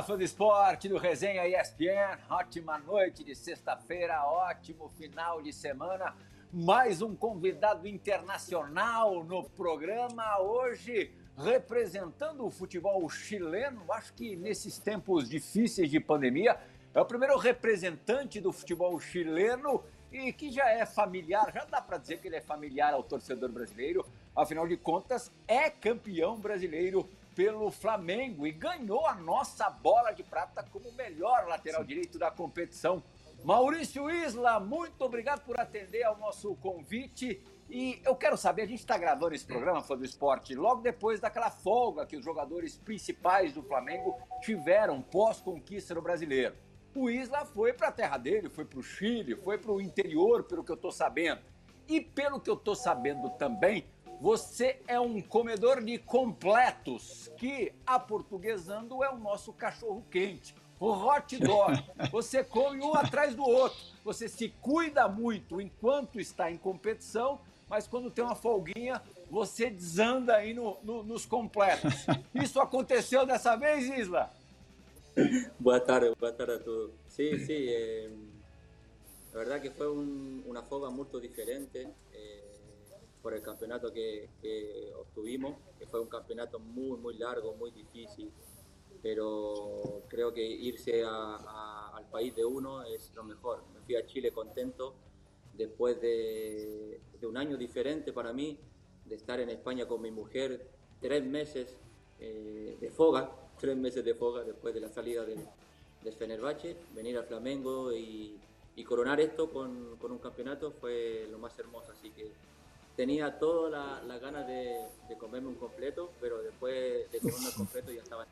fã do esporte, do Resenha ESPN. Ótima noite de sexta-feira, ótimo final de semana. Mais um convidado internacional no programa. Hoje, representando o futebol chileno. Acho que nesses tempos difíceis de pandemia, é o primeiro representante do futebol chileno e que já é familiar, já dá para dizer que ele é familiar ao torcedor brasileiro. Afinal de contas, é campeão brasileiro pelo Flamengo e ganhou a nossa bola de prata como o melhor lateral direito da competição. Maurício Isla, muito obrigado por atender ao nosso convite. E eu quero saber, a gente está gravando esse programa, Fã do Esporte, logo depois daquela folga que os jogadores principais do Flamengo tiveram pós-conquista do Brasileiro. O Isla foi para a terra dele, foi para o Chile, foi para o interior, pelo que eu estou sabendo. E pelo que eu estou sabendo também, você é um comedor de completos, que, aportuguesando, é o nosso cachorro-quente, o hot dog. Você come um atrás do outro. Você se cuida muito enquanto está em competição, mas quando tem uma folguinha, você desanda aí nos completos. Isso aconteceu dessa vez, Isla? Boa tarde a todos. Sí, sí, la verdad que fue una foga muy diferente por el campeonato que obtuvimos, que fue un campeonato muy largo, muy difícil, pero creo que irse al país de uno es lo mejor. Me fui a Chile contento después de un año diferente para mí, de estar en España con mi mujer 3 meses de foga, 3 meses de foga después de la salida del Fenerbahce, venir al Flamengo y coronar esto con un campeonato fue lo más hermoso, así que tenía todas las ganas de comerme un completo, pero después de comerme el completo já estava...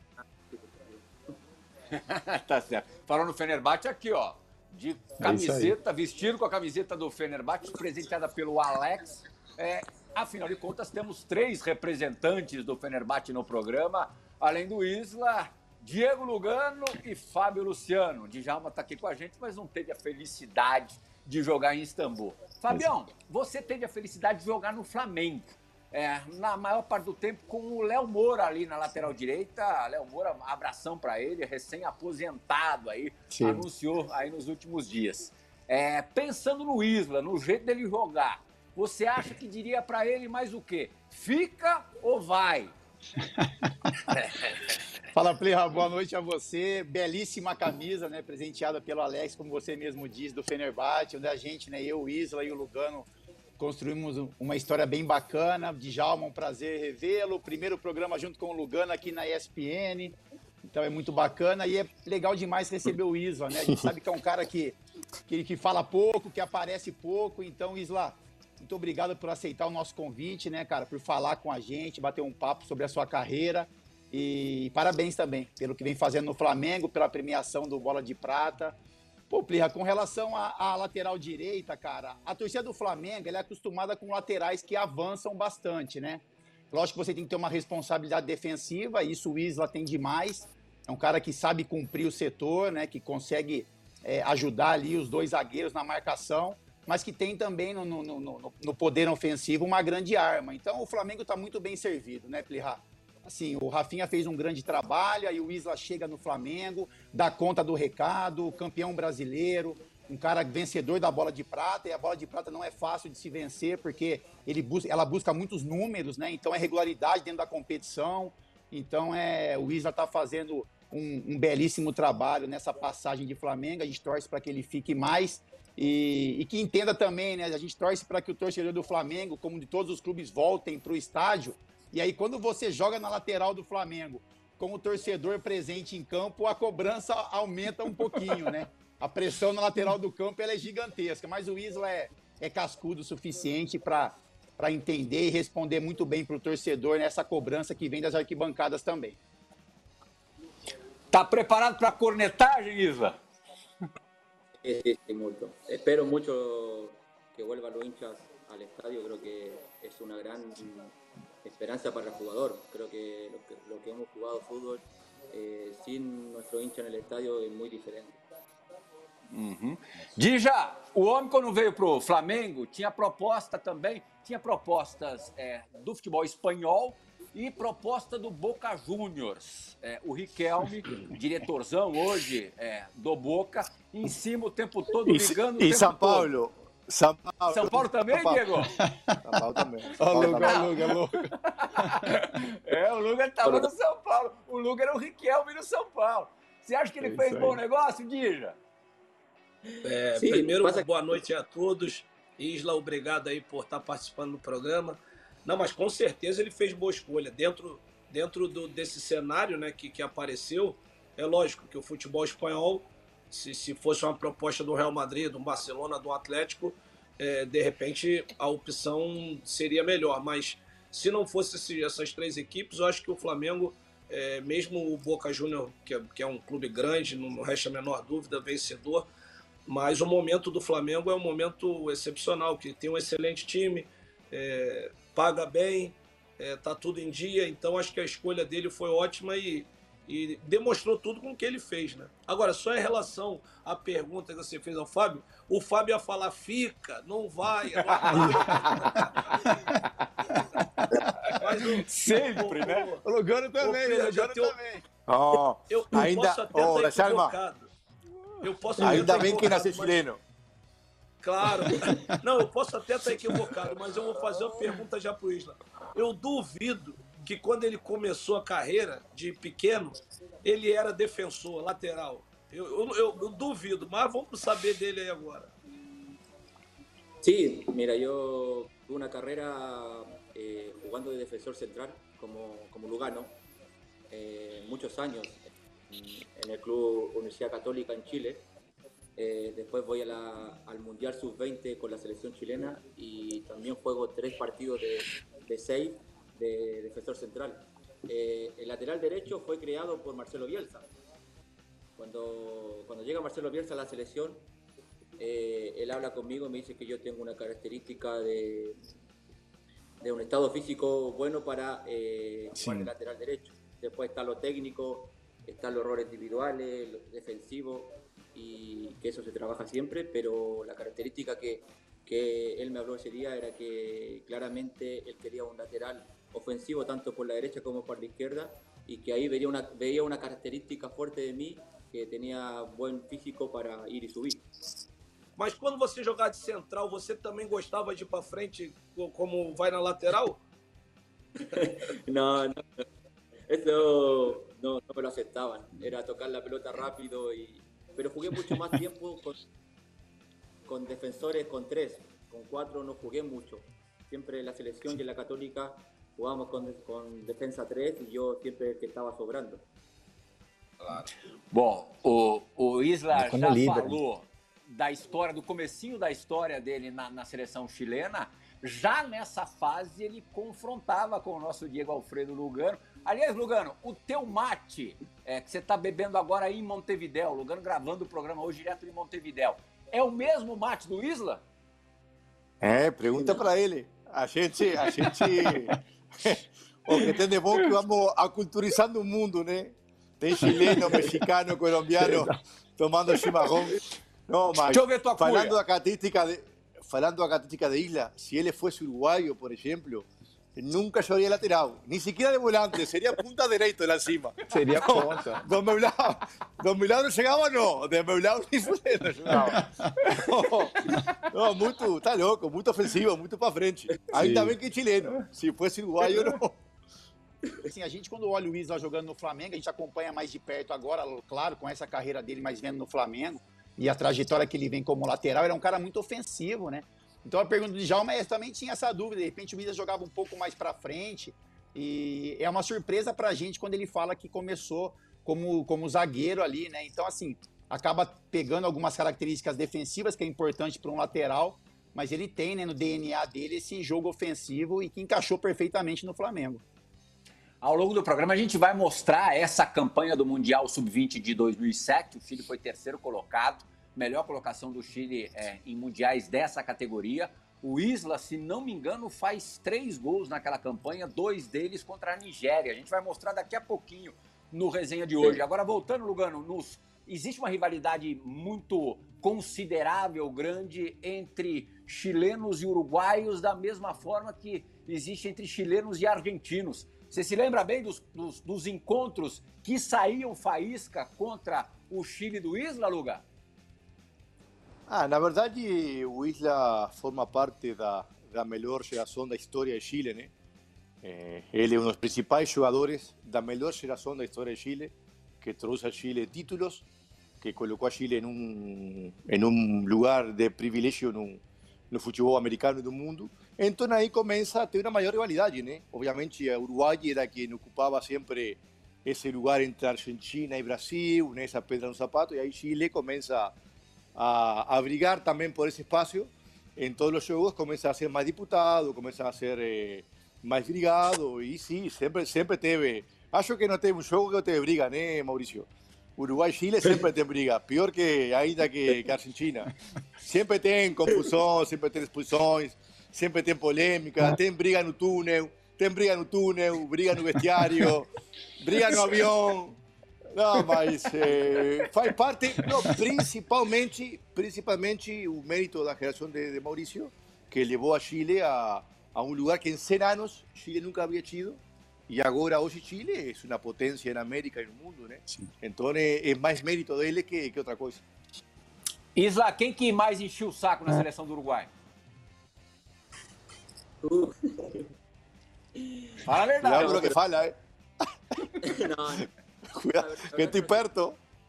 Tá certo. Falando no Fenerbahce, aqui, ó, de camiseta, vestido com a camiseta do Fenerbahce, presenteada pelo Alex. Afinal de contas, temos 3 representantes do Fenerbahce no programa, além do Isla, Diego Lugano e Fábio Luciano. O Djalma está aqui com a gente, mas não teve a felicidade de jogar em Istambul. Fabião, você teve a felicidade de jogar no Flamengo. Na maior parte do tempo com o Léo Moura ali na lateral direita. Léo Moura, abração para ele, recém-aposentado aí, sim, anunciou aí nos últimos dias. Pensando no Isla, no jeito dele jogar, você acha que diria para ele mais o quê? Fica ou vai? Fala, Plirra, boa noite a você. Belíssima camisa, né, presenteada pelo Alex, como você mesmo disse, do Fenerbahce, onde a gente, né, eu, o Isla e o Lugano, construímos uma história bem bacana. Djalma, um prazer revê-lo. Primeiro programa junto com o Lugano aqui na ESPN. Então é muito bacana e é legal demais receber o Isla, né? A gente sabe que é um cara que fala pouco, que aparece pouco. Então, Isla, muito obrigado por aceitar o nosso convite, né, cara? Por falar com a gente, bater um papo sobre a sua carreira. E parabéns também pelo que vem fazendo no Flamengo, pela premiação do Bola de Prata. Pô, Plirra, com relação à lateral direita, cara, a torcida do Flamengo ela é acostumada com laterais que avançam bastante, né? Lógico que você tem que ter uma responsabilidade defensiva, isso o Isla tem demais. É um cara que sabe cumprir o setor, né? Que consegue ajudar ali os 2 zagueiros na marcação, mas que tem também no poder ofensivo uma grande arma. Então o Flamengo está muito bem servido, né, Plirra? Assim, o Rafinha fez um grande trabalho, aí o Isla chega no Flamengo, dá conta do recado, campeão brasileiro, um cara vencedor da Bola de Prata, e a Bola de Prata não é fácil de se vencer, porque ela busca muitos números, né? Então é regularidade dentro da competição, então o Isla está fazendo um belíssimo trabalho nessa passagem de Flamengo, a gente torce para que ele fique mais, e que entenda também, né? A gente torce para que o torcedor do Flamengo, como de todos os clubes, voltem para o estádio. E aí, quando você joga na lateral do Flamengo com o torcedor presente em campo, a cobrança aumenta um pouquinho, né? A pressão na lateral do campo ela é gigantesca, mas o Isla é cascudo o suficiente para entender e responder muito bem para o torcedor nessa cobrança que vem das arquibancadas também. Tá preparado para a cornetagem, Isla? Sí, mucho. Espero mucho que vuelvan los hinchas al estadio, creo que es una gran esperanza para el jugador. Creo que lo que hemos jugado fútbol sin nuestro hincha en el estadio es muy diferente. Uhum. Dija, o homem quando veio pro Flamengo tinha proposta também, tinha propostas do futebol espanhol e proposta do Boca Juniors. O Riquelme, diretorzão hoje do Boca, em cima o tempo todo, ligando o tempo São todo. Paulo. São Paulo também, Diego? São Paulo também. Ó, o Luga. O Luga estava no São Paulo. O Luga era o Riquelme no São Paulo. Você acha que ele fez bom negócio, Dija? Sim, primeiro, boa noite a todos. Isla, obrigado aí por estar participando do programa. Não, mas com certeza ele fez boa escolha. Dentro desse cenário, né, que apareceu, é lógico que o futebol espanhol, se fosse uma proposta do Real Madrid, do Barcelona, do Atlético, de repente a opção seria melhor. Mas se não fosse essas três equipes, eu acho que o Flamengo, mesmo o Boca Juniors, que é um clube grande, não resta a menor dúvida, vencedor, mas o momento do Flamengo é um momento excepcional, que tem um excelente time, paga bem, tá tudo em dia, então acho que a escolha dele foi ótima e demonstrou tudo com o que ele fez, né? Agora, só em relação à pergunta que você fez ao Fábio, o Fábio ia falar, fica, não vai. Sempre, né? O Lugano também, Eu ainda, posso até estar equivocado. Ainda bem que nasce chileno. Claro. Não, eu posso até estar equivocado, mas eu vou fazer uma pergunta já pro Isla. Eu duvido que quando ele começou a carreira de pequeno, ele era defensor, lateral. Eu duvido, mas vamos saber dele aí agora. Sí, mira, yo tuve una carrera jugando de defensor central como Lugano, muchos años en el Club Universidad Católica en Chile. Después voy al Mundial Sub-20 con la selección chilena y también juego 3 partidos de 6 de defensor central. El lateral derecho fue creado por Marcelo Bielsa. Cuando llega Marcelo Bielsa a la selección, él habla conmigo y me dice que yo tengo una característica de un estado físico bueno para jugar de lateral derecho. Después está lo técnico, están los errores individuales, lo defensivo, y que eso se trabaja siempre, pero la característica que él me habló ese día era que claramente él quería un lateral ofensivo tanto por la derecha como por la izquierda, y que ahí veía una característica fuerte de mí, que tenía buen físico para ir e subir. Mas quando você jogava de central, você também gostava de ir para frente como vai na lateral? No, eso no me lo aceptaban. Era tocar la pelota rápido, pero jugué mucho más tiempo con defensores con 3, con 4 no jugué mucho. Siempre en la selección y en la Católica jugábamos con defensa 3 y yo siempre el que estaba sobrando. Claro. Bom, o Isla já líder, falou da história, do comecinho da história dele na seleção chilena. Já nessa fase ele confrontava com o nosso Diego Alfredo Lugano. Aliás, Lugano, o teu mate que você está bebendo agora aí em Montevidéu, Lugano gravando o programa hoje direto de Montevidéu, é o mesmo mate do Isla? Pergunta para ele. A gente o que tem de bom que vamos aculturizando o mundo, né? Tem chileno, mexicano, colombiano tomando chimarrão. Não, mas deixa eu ver tua falando da característica de Isla, se ele fosse uruguaio, por exemplo, nunca jogaria lateral, nem sequer de volante, seria punta direito lá em cima. Seria ponta. Do meu lado não chegava, não. Do meu lado nem fudendo chegava. Não, muito, tá louco, muito ofensivo, muito pra frente. Ainda bem que é chileno. Se fosse uruguaio, não. Assim, a gente, quando olha o Isla jogando no Flamengo, a gente acompanha mais de perto agora, claro, com essa carreira dele, mas vendo no Flamengo, e a trajetória que ele vem como lateral, ele é um cara muito ofensivo, né? Então a pergunta de Djalma também tinha essa dúvida, de repente o Isla jogava um pouco mais pra frente, e é uma surpresa pra gente quando ele fala que começou como zagueiro ali, né? Então, assim, acaba pegando algumas características defensivas, que é importante para um lateral, mas ele tem, né, no DNA dele esse jogo ofensivo e que encaixou perfeitamente no Flamengo. Ao longo do programa a gente vai mostrar essa campanha do Mundial Sub-20 de 2007. O Chile foi terceiro colocado, melhor colocação do Chile em mundiais dessa categoria. O Isla, se não me engano, faz 3 gols naquela campanha, 2 deles contra a Nigéria. A gente vai mostrar daqui a pouquinho no resenha de hoje. Agora, voltando, Lugano, existe uma rivalidade muito considerável, grande, entre chilenos e uruguaios, da mesma forma que existe entre chilenos e argentinos. Você se lembra bem dos encontros que saíam faísca contra o Chile do Isla, Luga? Na verdade, o Isla forma parte da melhor geração da história de Chile, né? Ele é um dos principais jogadores da melhor geração da história de Chile, que trouxe a Chile títulos, que colocou a Chile em um lugar de privilégio no futebol americano do mundo. Então aí começa a ter uma maior rivalidade, né? Obviamente, a Uruguai era quem ocupava sempre esse lugar entre Argentina e Brasil, nessa pedra no sapato, e aí Chile começa a brigar também por esse espaço. Em todos os jogos começa a ser mais disputado, começa a ser mais brigado, e sim, sempre teve. Acho que não teve um jogo que não teve briga, né, Maurício? Uruguai e Chile sempre tem briga, pior que ainda que Argentina. Sempre tem confusão, sempre tem expulsões, sempre tem polêmica, tem briga no túnel, briga no vestiário, briga no avião. Não, mas faz parte, não, principalmente o mérito da geração de Maurício, que levou a Chile a um lugar que em 100 anos Chile nunca havia tido, e agora hoje Chile é uma potência na América e no mundo, né? Sim. Então é mais mérito dele que outra coisa. Isla, quem que mais encheu o saco na seleção do Uruguai? Fala a verdade. Cuidado com o que fala, No. Cuidado, que estoy perto.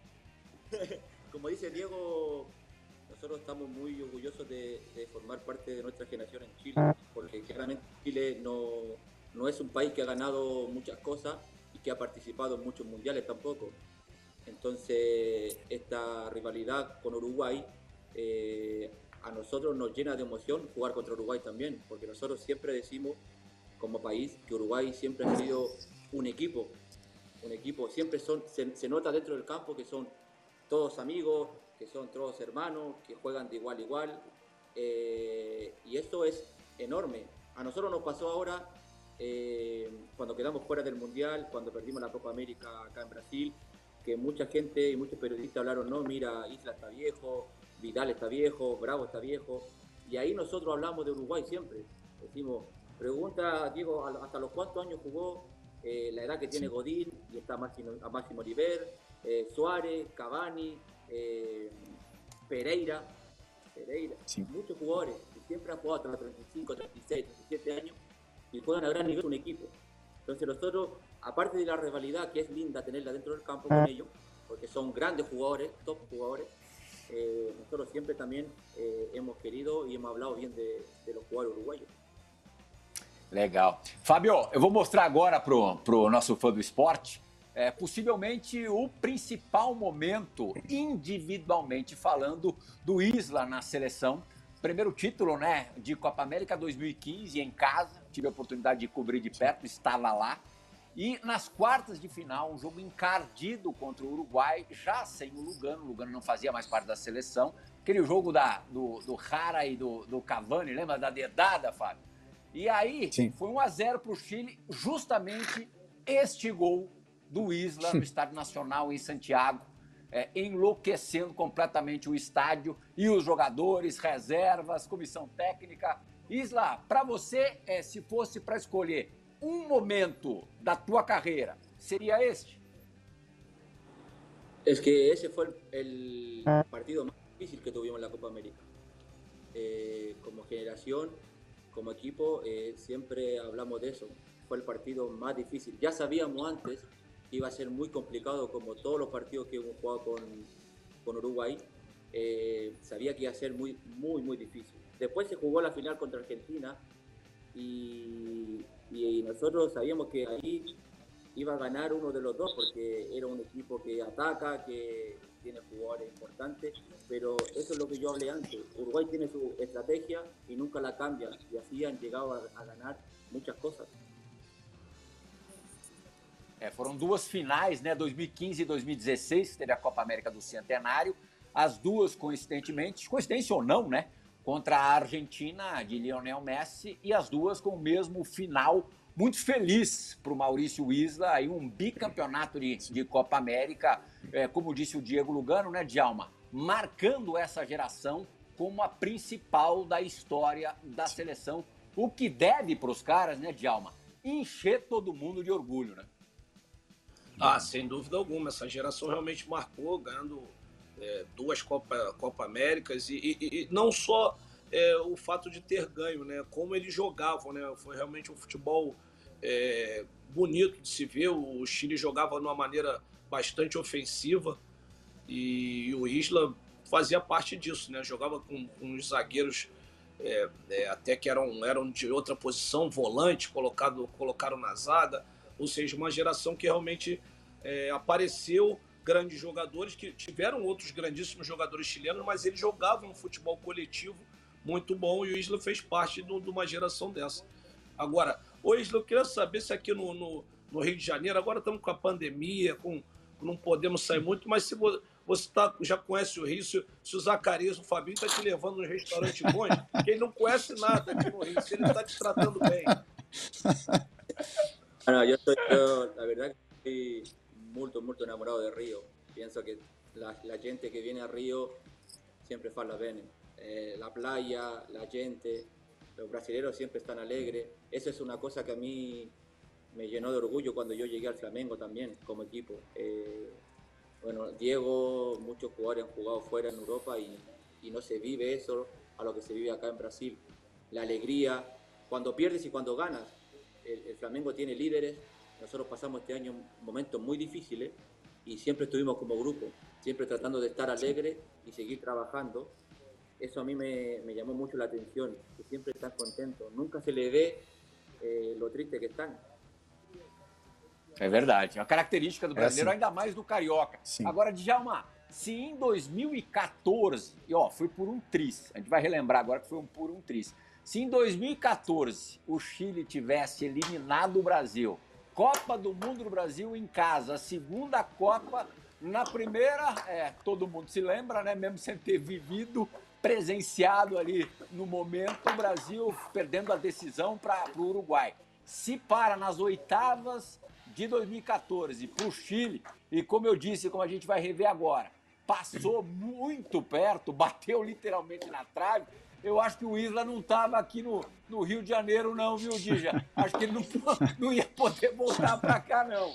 Como dice Diego, nosotros estamos muy orgullosos de formar parte de nuestra generación en Chile, porque claramente Chile no es un país que ha ganado muchas cosas y que ha participado en muchos mundiales tampoco. Entonces, esta rivalidad con Uruguay a nosotros nos llena de emoción jugar contra Uruguay también, porque nosotros siempre decimos como país que Uruguay siempre ha sido un equipo, siempre se nota dentro del campo que son todos amigos, que son todos hermanos, que juegan de igual a igual, y esto es enorme. A nosotros nos pasó ahora cuando quedamos fuera del Mundial, cuando perdimos la Copa América acá en Brasil, que mucha gente y muchos periodistas hablaron, no, mira, Isla está viejo, Vidal está viejo, Bravo está viejo, y ahí nosotros hablamos de Uruguay siempre. Decimos, pregunta Diego, ¿hasta los cuántos años jugó? La edad que tiene Godín, y está a Máximo Oliver, Suárez, Cavani, Pereira, sí. Muchos jugadores que siempre han jugado hasta los 35, 36, 37 años y juegan a gran nivel un equipo. Entonces nosotros, aparte de la rivalidad que es linda tenerla dentro del campo con ellos, porque son grandes jugadores, top jugadores, nosotros siempre también hemos querido y hemos hablado bien de los jugadores uruguayos. Legal. Fábio, eu vou mostrar agora pro nosso fã do esporte, possivelmente o principal momento, individualmente falando, do Isla na seleção. Primeiro título, né, de Copa América 2015 em casa, tive a oportunidade de cobrir de perto, estava lá. E nas quartas de final, um jogo encardido contra o Uruguai, já sem o Lugano não fazia mais parte da seleção. Aquele jogo do Jara e do Cavani, lembra da dedada, Fábio? E aí, sim, foi 1-0 para o Chile, justamente este gol do Isla no Estádio Nacional em Santiago, enlouquecendo completamente o estádio e os jogadores, reservas, comissão técnica. Isla, para você, se fosse para escolher um momento da tua carreira, seria este? Es que ese fue el partido más difícil que tuvimos en la Copa América. Como generación, como equipo, siempre hablamos de eso. Fue el partido más difícil. Ya sabíamos antes que iba a ser muy complicado, como todos los partidos que hemos jugado con Uruguay. Sabía que iba a ser muy, muy, muy difícil. Después se jugó la final contra Argentina y nosotros sabíamos que ahí iba a ganar uno de los dos, porque era un equipo que ataca, que tiene jugadores importantes, pero eso es lo que yo hablé antes. Uruguay tiene su estrategia y nunca la cambian, y así han llegado a ganar muchas cosas. Foram duas finais, né, 2015 e 2016, que teve a Copa América do Centenário, as duas coincidência ou não, né, contra a Argentina de Lionel Messi, e as duas com o mesmo final muito feliz para o Maurício Isla, aí um bicampeonato de Copa América, como disse o Diego Lugano, né, Djalma, marcando essa geração como a principal da história da seleção, o que deve para os caras, né, Djalma, encher todo mundo de orgulho, né? Ah, sem dúvida alguma. Essa geração realmente marcou, ganhando 2 Copa Américas e não só o fato de ter ganho, né? Como eles jogavam, né? Foi realmente um futebol bonito de se ver. O Chile jogava de uma maneira bastante ofensiva e o Isla fazia parte disso, né? Jogava com os zagueiros até que eram de outra posição, volante, colocaram na zaga, ou seja, uma geração que realmente apareceu grandes jogadores, que tiveram outros grandíssimos jogadores chilenos, mas eles jogavam um futebol coletivo muito bom e o Isla fez parte de uma geração dessa. Agora, ô Isla, eu queria saber se aqui no Rio de Janeiro, agora estamos com a pandemia, não podemos sair muito, mas se você já conhece o Rio, se o Zacarias, o Fabinho, está te levando nos restaurantes bons, que ele não conhece nada aqui no Rio, se ele está te tratando bem. Bueno, yo la verdad que estoy muy enamorado de Río. Pienso que la gente que viene a Río siempre parla bene. La playa, la gente, los brasileños siempre están alegres. Eso es una cosa que a mí me llenó de orgullo cuando yo llegué al Flamengo también, como equipo. Bueno, Diego, muchos jugadores han jugado fuera en Europa y no se vive eso a lo que se vive acá en Brasil. La alegría, cuando pierdes y cuando ganas. El Flamengo tiene líderes, nosotros pasamos este año momentos muy difíciles y siempre estuvimos como grupo, siempre tratando de estar alegres y seguir trabajando. Eso a mí me llamó mucho la atención, que siempre están contentos, nunca se le ve lo triste que están. É verdade, é uma característica do brasileiro, assim. ainda mais do carioca. Sim. Agora, Djalma, se em 2014, e fui por um tris, a gente vai relembrar agora que foi por um tris, se em 2014 o Chile tivesse eliminado o Brasil, Copa do Mundo do Brasil em casa, a segunda Copa, na primeira, todo mundo se lembra, né? Mesmo sem ter vivido, presenciado ali no momento, o Brasil perdendo a decisão para o Uruguai. Se para nas oitavas de 2014 para o Chile, e como eu disse, como a gente vai rever agora, passou muito perto, bateu literalmente na trave. Eu acho que o Isla não estava aqui no Rio de Janeiro, não, viu, Dija? Acho que ele não ia poder voltar para cá, não.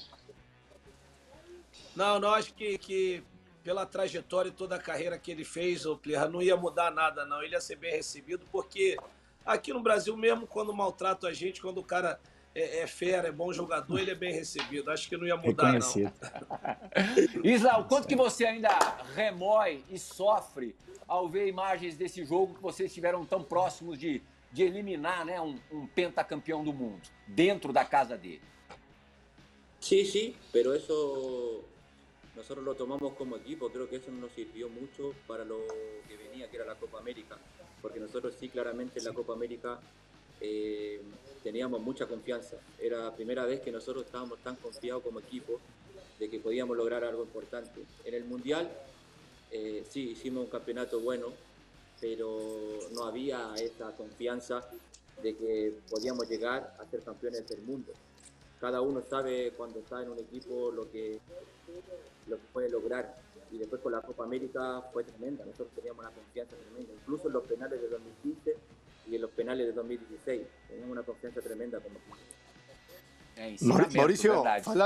Não, acho que pela trajetória e toda a carreira que ele fez, o Plirra, não ia mudar nada, não. Ele ia ser bem recebido, porque aqui no Brasil mesmo, quando maltratam a gente, quando o cara é fera, é bom jogador, ele é bem recebido. Acho que não ia mudar, não. Isla, o quanto que você ainda remói e sofre ao ver imagens desse jogo que vocês estiveram tão próximos de eliminar, né, um pentacampeão do mundo, dentro da casa dele? Sí, pero eso nosotros lo tomamos como equipo, creo que eso nos sirvió mucho para lo que venía, que era la Copa América, porque nosotros sí claramente en la Copa América teníamos mucha confianza. Era la primera vez que nosotros estábamos tan confiados como equipo de que podíamos lograr algo importante. En el Mundial sí hicimos un campeonato bueno, pero no había esa confianza de que podíamos llegar a ser campeones del mundo. Cada uno sabe cuando está en un equipo lo que puede lograr. Y después con la Copa América fue tremenda. Nosotros teníamos una confianza tremenda. Incluso en los penales de 2015 y en los penales de 2016. Teníamos una confiança tremenda como equipo. Maurício,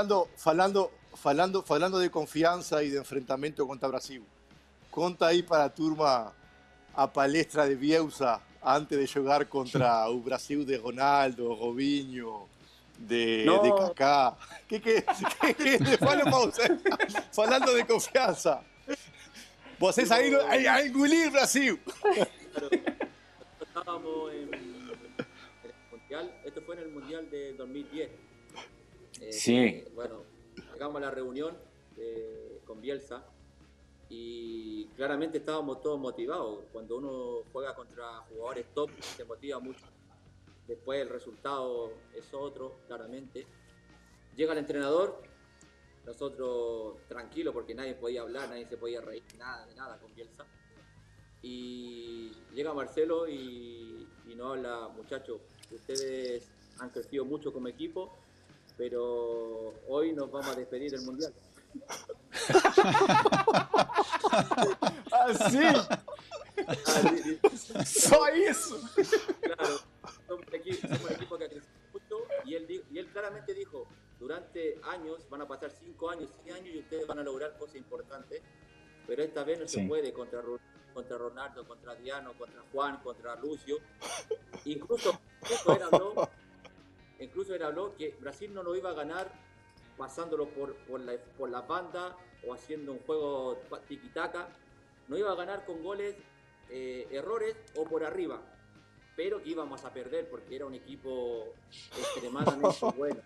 falando de confiança e de enfrentamento contra Brasil, conta aí para a turma a palestra de Bielsa antes de jogar contra o Brasil de Ronaldo, Robinho, de Kaká. Fala para você, falando de confiança. Vocês saíram a engolir Brasil. Estábamos en el Mundial, esto fue en el Mundial de 2010. Sí. Bueno, llegamos a la reunión con Bielsa y claramente estábamos todos motivados. Cuando uno juega contra jugadores top se motiva mucho. Después el resultado es otro, claramente. Llega el entrenador, nosotros tranquilos porque nadie podía hablar, nadie se podía reír, nada con Bielsa. Y llega Marcelo y nos habla, muchachos, ustedes han crecido mucho como equipo, pero hoy nos vamos a despedir del Mundial. Assim? Só isso? Claro, somos un equipo que ha crecido mucho y él durante años, van a pasar 5 años, 6 años y ustedes van a lograr cosas importantes, pero esta vez no se puede contra Ronaldo, contra Adriano, contra Juan, contra Lucio. Incluso él habló que Brasil no lo iba a ganar pasándolo por la banda o haciendo un juego tiki-taka, no iba a ganar con goles, errores o por arriba, pero que íbamos a perder porque era un equipo extremadamente bueno.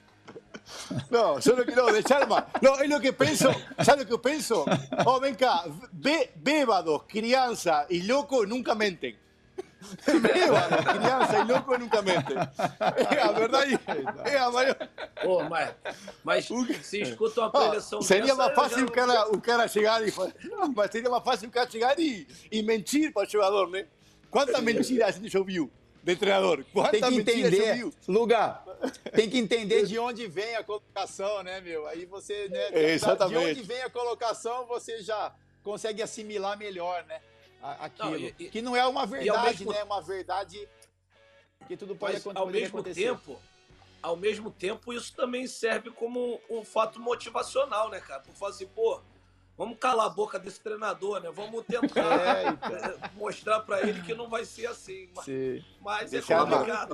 No, yo no quiero de Chalma. No, es lo que pienso. ¿Sabes lo que pienso? Oh, ven acá. Bébados, crianza y loco nunca menten. Bébados, criança e louco nunca mentem. É a verdade. É a maior. Pô, mas se escuta uma preleção seria dessa, mais fácil o cara chegar e mas seria mais fácil o cara chegar e mentir para o jogador, né? Quanta mentira a gente já ouviu de treinador? Tem que entender, Luga, tem que entender de onde vem a colocação, né, meu? Aí você, né, exatamente. de onde vem a colocação, você já consegue assimilar melhor, né? Aquilo. Não, que não é uma verdade, né? É uma verdade que tudo pode acontecer. Ao mesmo tempo, isso também serve como um fato motivacional, né, cara? Por falar assim, pô, vamos calar a boca desse treinador, né? Vamos tentar mostrar para ele que não vai ser assim. Mas é complicado.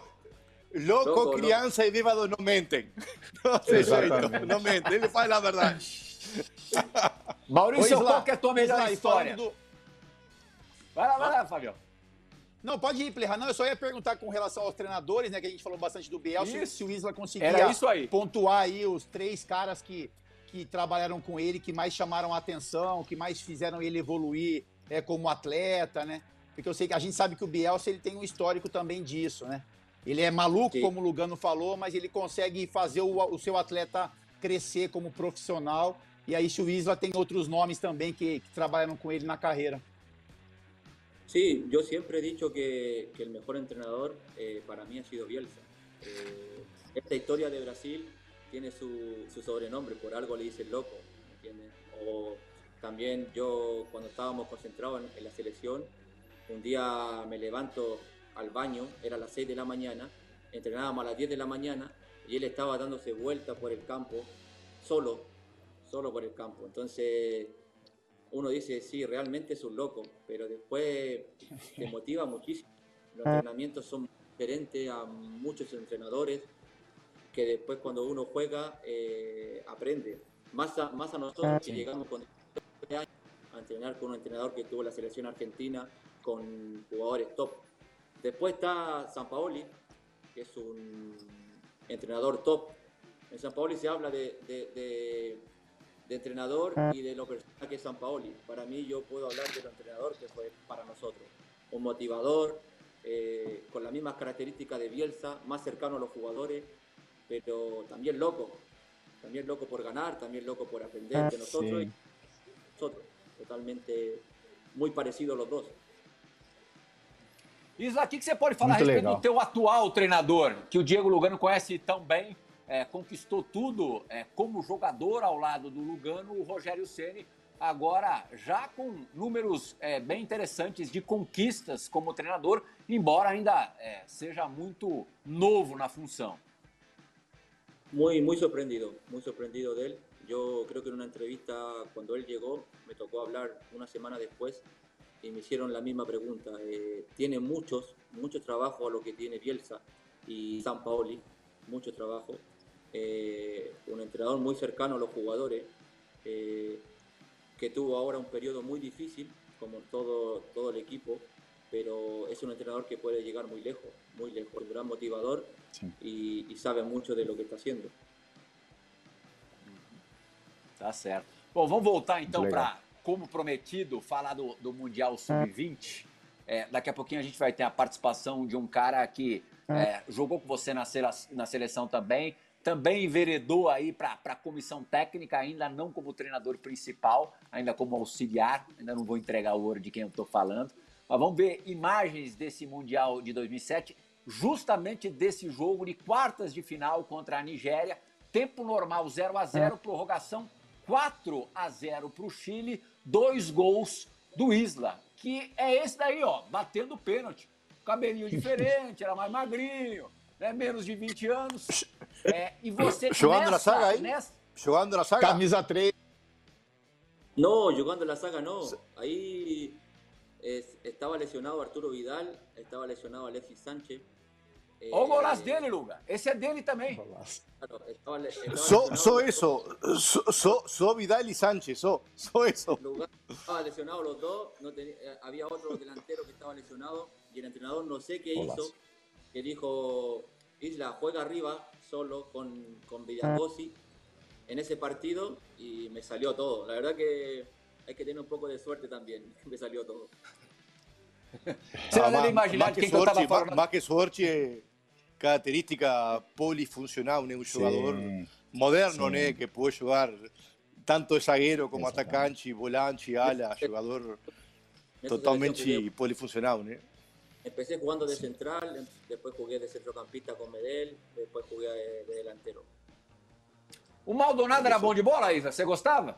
Louco, criança e bêbado não mentem. Não mentem, ele faz a verdade. Maurício, qual que é a tua melhor história? Vai lá, Fabião. Não, pode ir, Plirra. Não, eu só ia perguntar com relação aos treinadores, né? Que a gente falou bastante do Bielsa, se o Isla conseguia pontuar aí os 3 caras que trabalharam com ele, que mais chamaram a atenção, que mais fizeram ele evoluir como atleta, né? Porque eu sei que a gente sabe que o Bielsa ele tem um histórico também disso, né? Ele é maluco, como o Lugano falou, mas ele consegue fazer o seu atleta crescer como profissional. E aí, se o Isla tem outros nomes também que trabalharam com ele na carreira. Sí, yo siempre he dicho que el mejor entrenador para mí ha sido Bielsa. Esta historia de Brasil tiene su sobrenombre, por algo le dicen loco, ¿entiendes? O también yo cuando estábamos concentrados en la selección, un día me levanto al baño, era a las 6 de la mañana, entrenábamos a las 10 de la mañana y él estaba dándose vueltas por el campo, solo por el campo. Entonces uno dice, sí, realmente es un loco, pero después te motiva muchísimo. Los entrenamientos son diferentes a muchos entrenadores que después cuando uno juega aprende. Más a nosotros que llegamos con 20 años a entrenar con un entrenador que tuvo la selección argentina con jugadores top. Después está Sampaoli, que es un entrenador top. En Sampaoli se habla de entrenador y de lo personal que es Sampaoli. Para mí, yo puedo hablar del entrenador que fue para nosotros. Un motivador, con las mismas características de Bielsa, más cercano a los jugadores, pero también loco por ganar, también loco por aprender de nosotros. Y nosotros, totalmente muy parecidos los dos. Isla, o que você pode falar a respeito do teu atual treinador, que o Diego Lugano conhece tão bem? Conquistou tudo como jogador ao lado do Lugano, o Rogério Ceni, agora já com números bem interessantes de conquistas como treinador, embora ainda seja muito novo na função. Muy sorprendido de él. Yo creo que en una entrevista cuando él llegó, me tocó hablar una semana después y me hicieron la misma pregunta. Tiene mucho trabajo a lo que tiene Bielsa y Sampaoli, mucho trabajo. Un entrenador muy cercano a los jugadores, que tuvo ahora un periodo muy difícil, como todo el equipo, pero es un entrenador que puede llegar muy lejos, un gran motivador y sabe mucho de lo que está haciendo. Tá certo. Bom, vamos voltar então para, como prometido, falar do Mundial Sub-20. Daqui a pouquinho a gente vai ter a participação de um cara que jogou com você na seleção também enveredou aí para a comissão técnica, ainda não como treinador principal, ainda como auxiliar, ainda não vou entregar o ouro de quem eu estou falando, mas vamos ver imagens desse Mundial de 2007, justamente desse jogo de quartas de final contra a Nigéria, tempo normal 0-0, prorrogação 4-0 para o Chile, 2 gols do Isla, que é esse daí, ó, batendo pênalti, cabelinho diferente, era mais magrinho, né, menos de 20 anos, E você, jogando na saga aí? Jogando na saga? Camisa 3. No, jugando la saga no. Ahí estaba lesionado Arturo Vidal, estava lesionado Alexis Sánchez. Olha o golaço dele, Luga. Esse é dele também. Claro, Só isso. Só Vidal y Sánchez, só eso. Estaba lesionado los dos, había otro delantero que estaba lesionado y el entrenador no sé qué hizo, que dijo, Isla, juega arriba solo con Villacosi en ese partido y me salió todo. La verdad que hay que tener un poco de suerte también, me salió todo. Você não deve imaginar quem que eu estava falando. Más que sorte, característica polifuncional, né? Um jogador moderno, né? Que pode jogar tanto de zagueiro como atacante, volante, ala, jogador totalmente polifuncional, né? Empecé jugando de central, después jugué de centrocampista con Medel, después jugué de delantero. O Maldonado era bom de bola, Isa? Você gostava?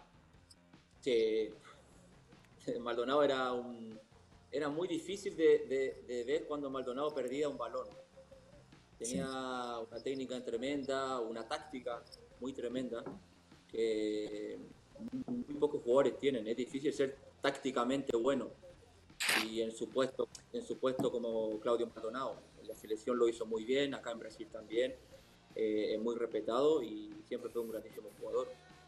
Sí. Maldonado era muy difícil de ver cuando Maldonado perdía un balón. Tenía una técnica tremenda, una táctica muy tremenda, que muy pocos jugadores tienen. Es difícil ser tácticamente bueno. Y en su puesto como Claudio Maldonado. En la selección lo hizo muy bien, acá en Brasil también. Es muy respetado y siempre fue un grandísimo jugador.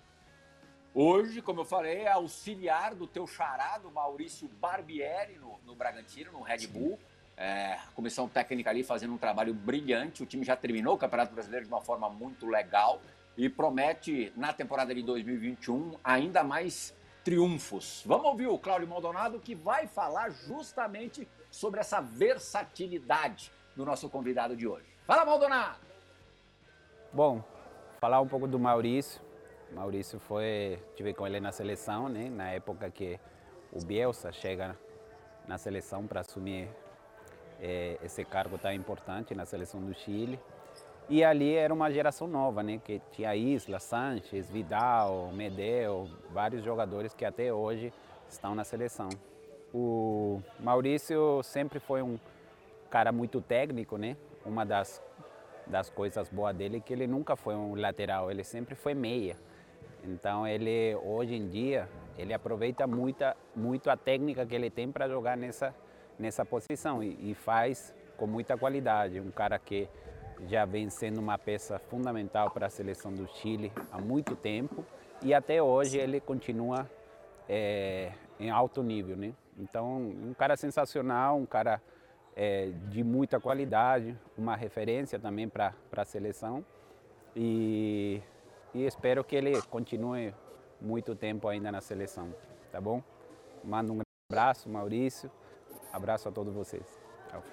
Hoje, como eu falei, é auxiliar do teu xará, do Maurício Barbieri, no Bragantino, no Red Bull. A comissão técnica ali fazendo um trabalho brilhante. O time já terminou o Campeonato Brasileiro de uma forma muito legal e promete, na temporada de 2021, ainda mais triunfos. Vamos ouvir o Cláudio Maldonado, que vai falar justamente sobre essa versatilidade do nosso convidado de hoje. Fala, Maldonado! Bom, falar um pouco do Maurício. Maurício tive com ele na seleção, né? Na época que o Bielsa chega na seleção para assumir esse cargo tão importante na seleção do Chile. E ali era uma geração nova, né? Que tinha Isla, Sánchez, Vidal, Medel, vários jogadores que até hoje estão na seleção. O Maurício sempre foi um cara muito técnico, né? Uma das coisas boas dele é que ele nunca foi um lateral, ele sempre foi meia. Então ele hoje em dia ele aproveita muito a técnica que ele tem para jogar nessa posição e faz com muita qualidade. Um cara que já vem sendo uma peça fundamental para a seleção do Chile há muito tempo e até hoje ele continua em alto nível, né? Então um cara sensacional, um cara de muita qualidade, uma referência também para a seleção e espero que ele continue muito tempo ainda na seleção, tá bom? Mando um abraço, Maurício, abraço a todos vocês. Tchau.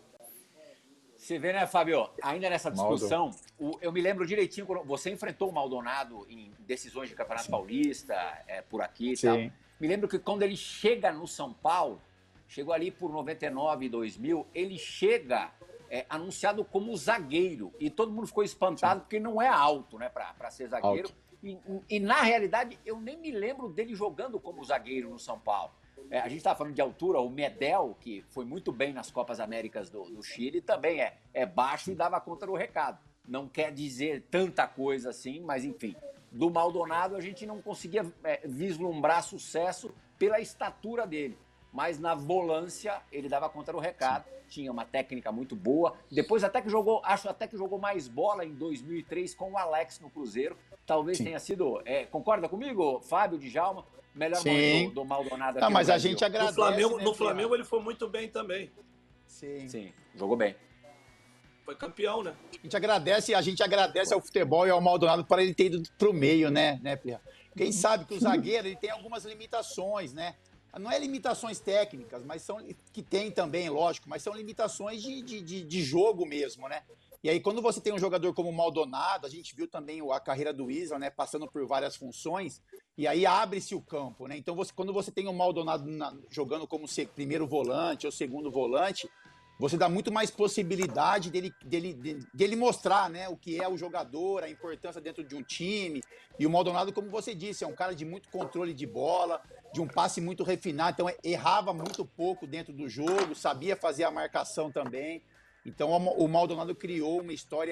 Você vê, né, Fábio? Ainda nessa discussão, eu me lembro direitinho quando você enfrentou o Maldonado em decisões de Campeonato Paulista, por aqui e tal. Me lembro que quando ele chega no São Paulo, chegou ali por 99 e 2000, ele chega anunciado como zagueiro. E todo mundo ficou espantado porque não é alto, né, para ser zagueiro. E na realidade, eu nem me lembro dele jogando como zagueiro no São Paulo. A gente estava falando de altura, o Medel, que foi muito bem nas Copas Américas do Chile, também é baixo e dava conta do recado. Não quer dizer tanta coisa assim, mas enfim. Do Maldonado a gente não conseguia vislumbrar sucesso pela estatura dele. Mas na volância ele dava conta do recado, tinha uma técnica muito boa. Depois acho até que jogou mais bola em 2003 com o Alex no Cruzeiro. Talvez tenha sido, concorda comigo, Fábio, Djalma? Melhor mão do Maldonado aqui mas no a gente agradece. No Flamengo ele foi muito bem também. Sim, jogou bem. Foi campeão, né? A gente agradece ao futebol e ao Maldonado para ele ter ido pro meio, né, Pia? Quem sabe que o zagueiro ele tem algumas limitações, né? Não é limitações técnicas, mas que tem também, lógico, mas são limitações de jogo mesmo, né? E aí, quando você tem um jogador como o Maldonado, a gente viu também a carreira do Isla, né, passando por várias funções, e aí abre-se o campo, né? Então, quando você tem o Maldonado jogando como primeiro volante ou segundo volante, você dá muito mais possibilidade dele mostrar, né, o que é o jogador, a importância dentro de um time. E o Maldonado, como você disse, é um cara de muito controle de bola, de um passe muito refinado, então errava muito pouco dentro do jogo, sabia fazer a marcação também. Então o Maldonado criou uma história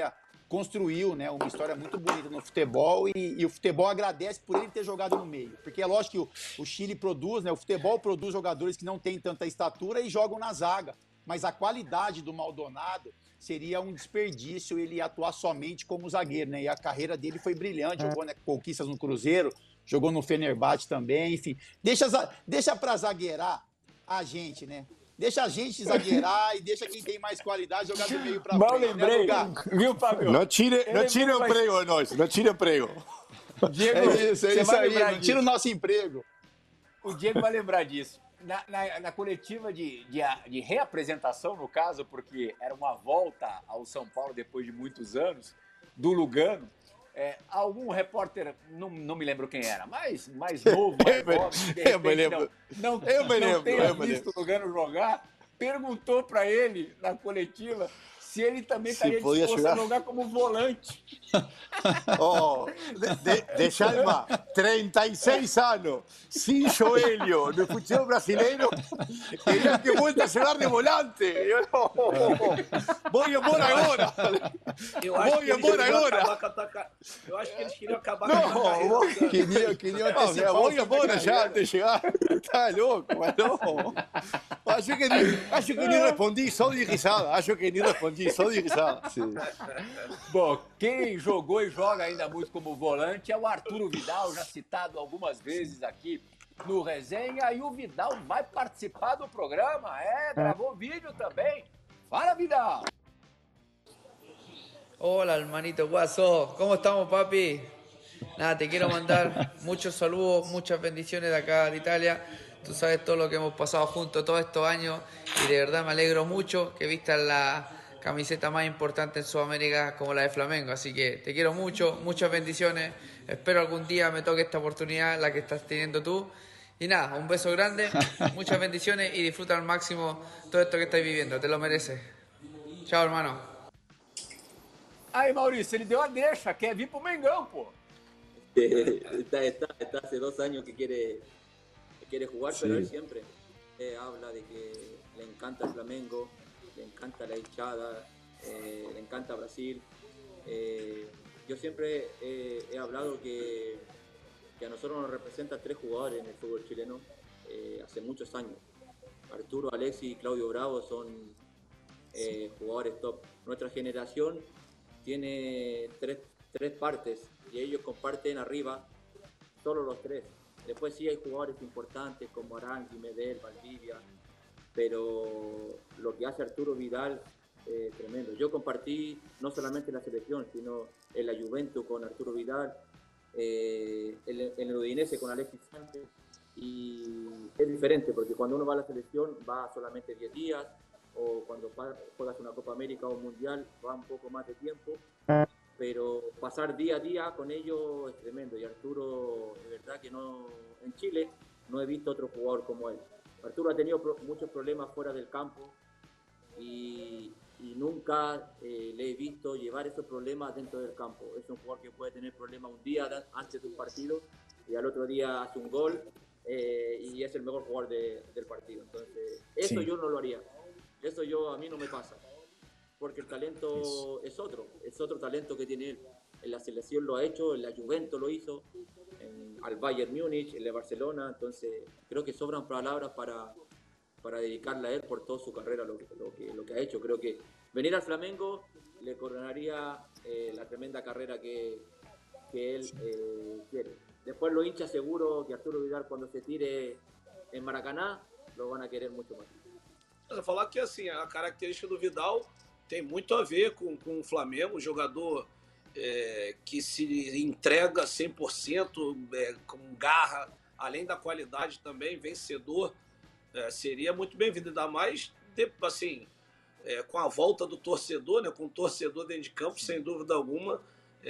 construiu, né, uma história muito bonita no futebol e o futebol agradece por ele ter jogado no meio. Porque é lógico que o Chile produz, né, o futebol produz jogadores que não têm tanta estatura e jogam na zaga. Mas a qualidade do Maldonado seria um desperdício ele atuar somente como zagueiro, né? E a carreira dele foi brilhante, jogou, né, conquistas no Cruzeiro, jogou no Fenerbahçe também, enfim. Deixa para zagueirar a gente, né? Deixa a gente zagueirar e deixa quem tem mais qualidade jogar do meio para frente. Mal lembrei, viu, Fábio? Não tire o emprego de nós, não tire o emprego. Diego, é isso aí, não tira o nosso emprego. O Diego vai lembrar disso. Na coletiva de reapresentação, no caso, porque era uma volta ao São Paulo depois de muitos anos, do Lugano, algum repórter, não me lembro quem era, mais novo, eu me lembro. Não tenha visto o Lugano jogar, perguntou para ele na coletiva se ele também estaria disposto a jogar como volante. De Chalma, 36 anos, sem joelho, no futebol brasileiro, queria que volte a jogar de volante. Vou embora agora. Eu acho que eles queriam acabar com a carreira. Queriam antecipar. Vou embora já, de chegar. Tá louco, mas não. Acho que nem respondi, só de risada. Sim. Bom, quem jogou e joga ainda muito como volante é o Arturo Vidal, já citado algumas vezes aqui no Resenha, e o Vidal vai participar do programa, gravou vídeo também. Fala, Vidal! Hola, hermanito Guaso, ¿cómo estamos, papi? Nada, te quiero mandar muchos saludos, muchas bendiciones de acá de Italia. Tú sabes todo lo que hemos pasado juntos todos estos años y de verdad me alegro mucho que vistas la camiseta más importante en Sudamérica como la de Flamengo. Así que te quiero mucho, muchas bendiciones. Espero algún día me toque esta oportunidad, la que estás teniendo tú. Y nada, un beso grande, muchas bendiciones y disfruta al máximo todo esto que estás viviendo. Te lo mereces. Chao, hermano. Aí, Maurício, ele deu a deixa, quer vir pro Mengão, pô. Está hace 2 años que quiere jugar, pero él siempre habla de que le encanta el Flamengo, le encanta la hinchada, le encanta Brasil. Yo siempre he hablado que a nosotros nos representa 3 jugadores en el fútbol chileno hace muchos años. Arturo, Alexis y Claudio Bravo son jugadores top. Nuestra generación tiene tres partes y ellos comparten arriba solo los 3. Después sí hay jugadores importantes como Arangui, Medel, Valdivia, pero lo que hace Arturo Vidal es tremendo. Yo compartí no solamente en la selección, sino en la Juventus con Arturo Vidal, en el Udinese con Alexis Sánchez, y es diferente porque cuando uno va a la selección va solamente 10 días, o cuando juegas una Copa América o un Mundial va un poco más de tiempo, pero pasar día a día con ellos es tremendo. Y Arturo, de verdad que no, en Chile no he visto otro jugador como él. Arturo ha tenido muchos problemas fuera del campo y nunca le he visto llevar esos problemas dentro del campo. Es un jugador que puede tener problemas un día antes de un partido y al otro día hace un gol y es el mejor jugador del partido. Entonces, eso yo no lo haría. Eso a mí no me pasa. Porque el talento es otro talento que tiene él. En la selección lo ha hecho, en la Juventus lo hizo, al Bayern Múnich, en el Barcelona. Entonces, creo que sobran palabras para dedicarle a él por toda su carrera, lo que ha hecho. Creo que venir al Flamengo le coronaría la tremenda carrera que él quiere. Después los hinchas seguro que Arturo Vidal, cuando se tire en Maracaná, lo van a querer mucho más. Eu vou falar que assim, a característica do Vidal tem muito a ver com o Flamengo, um jogador que se entrega 100%, com garra, além da qualidade também, vencedor, seria muito bem-vindo, ainda mais assim, com a volta do torcedor, né, com o torcedor dentro de campo, sem dúvida alguma,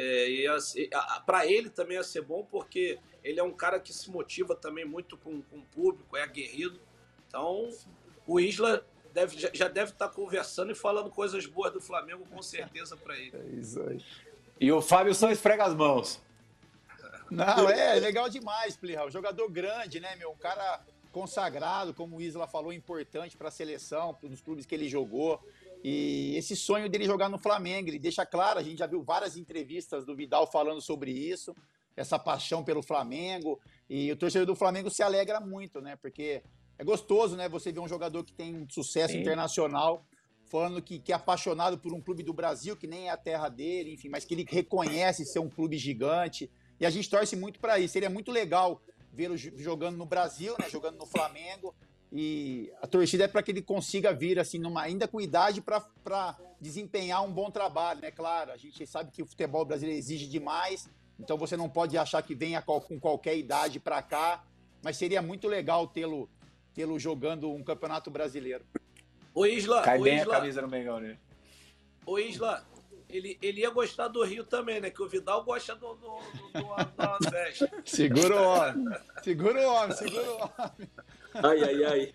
para ele também ia ser bom, porque ele é um cara que se motiva também muito com o público, é aguerrido, então o Isla já deve estar conversando e falando coisas boas do Flamengo, com certeza, para ele. É isso aí. E o Fábio só esfrega as mãos. Não, é legal demais, Plihal. Jogador grande, né, meu? Um cara consagrado, como o Isla falou, importante para a seleção, nos clubes que ele jogou. E esse sonho dele jogar no Flamengo, ele deixa claro, a gente já viu várias entrevistas do Vidal falando sobre isso, essa paixão pelo Flamengo, e o torcedor do Flamengo se alegra muito, né? Porque é gostoso, né? Você ver um jogador que tem um sucesso internacional falando que é apaixonado por um clube do Brasil, que nem é a terra dele, enfim, mas que ele reconhece ser um clube gigante. E a gente torce muito para isso. Seria muito legal vê-lo jogando no Brasil, né? Jogando no Flamengo. E a torcida é para que ele consiga vir assim, ainda com idade, para desempenhar um bom trabalho, né? Claro, a gente sabe que o futebol brasileiro exige demais, então você não pode achar que venha com qualquer idade para cá, mas seria muito legal tê-lo jogando um campeonato brasileiro. Ô Isla, Cai bem a camisa no Mengão, né? Ô Isla, ele ia gostar do Rio também, né? Que o Vidal gosta do festa. Segura o homem. Ai, ai, ai.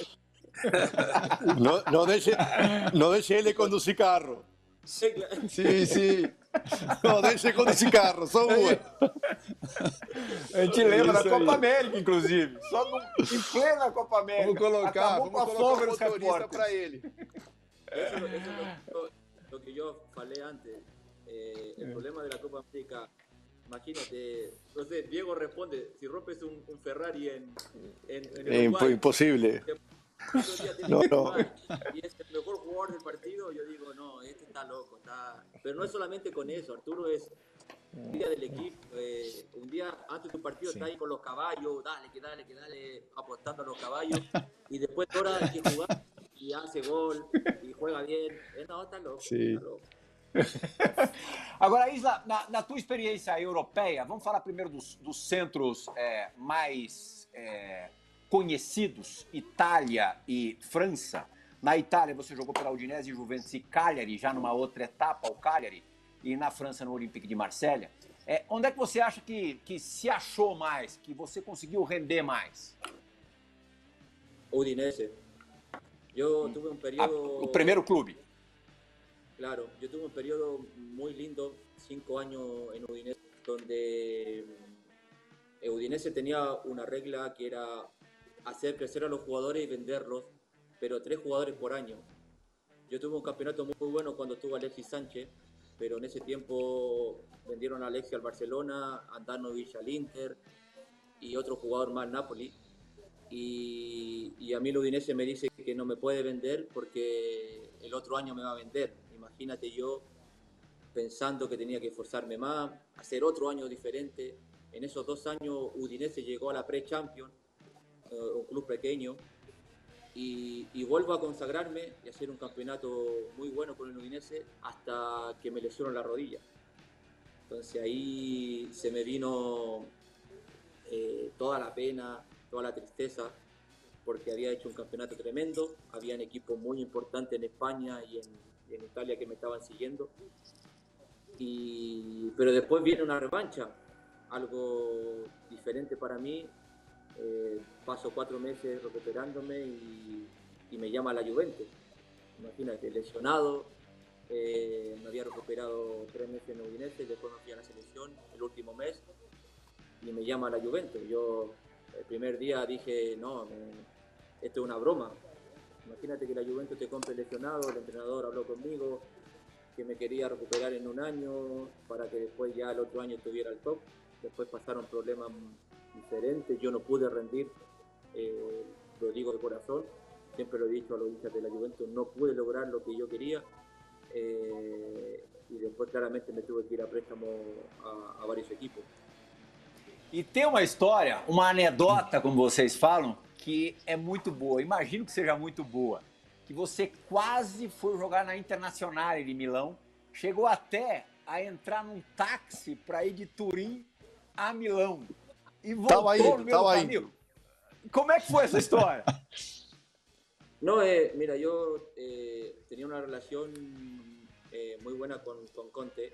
No deixe ele conduzir carro. Sí, claro. Sim. No deixe conduzir carro, só uma. A gente lembra da Copa América, inclusive. Só em plena Copa América. Vamos colocar o motorista para ele. Eso es lo que yo falei antes. El problema de la Copa América, imagínate, no sé, Diego responde, si rompes un Ferrari en Uruguay, Imposible. No. Y es el mejor jugador del partido, yo digo, no, este está loco, pero no es solamente con eso, Arturo es un día del equipo, un día antes de tu partido está ahí con los caballos, dale, apostando a los caballos, y después de horas hay que jugar y hace gol y juega bien, no, está loco, Sim. está loco. Agora, Isla, na tua experiência europeia, vamos falar primeiro dos centros mais conhecidos, Itália e França. Na Itália você jogou pela Udinese, Juventus e Cagliari, já numa outra etapa, o Cagliari, e na França no Olympique de Marselha. Onde é que você acha que se achou mais, que você conseguiu render mais? Udinese. Yo tuve un periodo... O primeiro clube. Claro, yo tuve un periodo muy lindo, 5 años en Udinese, donde Udinese tenía una regla que era hacer crecer a los jugadores y venderlos, pero 3 jugadores por año. Yo tuve un campeonato muy bueno cuando estuvo Alexis Sánchez, pero en ese tiempo vendieron a Alexis al Barcelona, a Andanovic al Inter y otro jugador más al Napoli. Y a mí el Udinese me dice que no me puede vender porque el otro año me va a vender. Imagínate yo pensando que tenía que esforzarme más, hacer otro año diferente. En esos 2 años Udinese llegó a la Pre-Champions, un club pequeño, y vuelvo a consagrarme y hacer un campeonato muy bueno con el Udinese hasta que me lesionó la rodilla. Entonces ahí se me vino toda la pena, toda la tristeza, porque había hecho un campeonato tremendo, habían equipos muy importantes en España y en Italia que me estaban siguiendo, pero después viene una revancha, algo diferente para mí. Paso 4 meses recuperándome y me llama la Juventus. Imagínate, lesionado, me había recuperado 3 meses en Udinese, después me fui a la selección el último mes y me llama la Juventus. Yo el primer día dije, no, esto es una broma. Imagínate que la Juventus te compre lesionado, el entrenador habló conmigo, que me quería recuperar en 1 año para que después ya el otro año estuviera al top. Después pasaron problemas diferentes, yo no pude rendir, lo digo de corazón, siempre lo he dicho a los hinchas de la Juventus, no pude lograr lo que yo quería, y después claramente me tuve que ir a préstamo a vários equipos. E tem uma história, uma anedota, como vocês falam, que é muito boa, imagino que seja muito boa, que você quase foi jogar na Internazionale de Milão, chegou até a entrar num táxi para ir de Turim a Milão. E voltou no meu caminho. Como é que foi essa história? No, mira, yo tenía una relación muy buena con Conte.